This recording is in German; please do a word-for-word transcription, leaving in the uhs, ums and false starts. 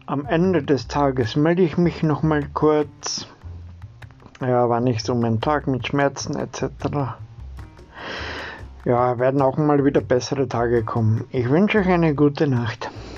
Am Ende des Tages melde ich mich nochmal kurz, ja, wann ich so meinen Tag mit Schmerzen et cetera. Ja, werden auch mal wieder bessere Tage kommen. Ich wünsche euch eine gute Nacht.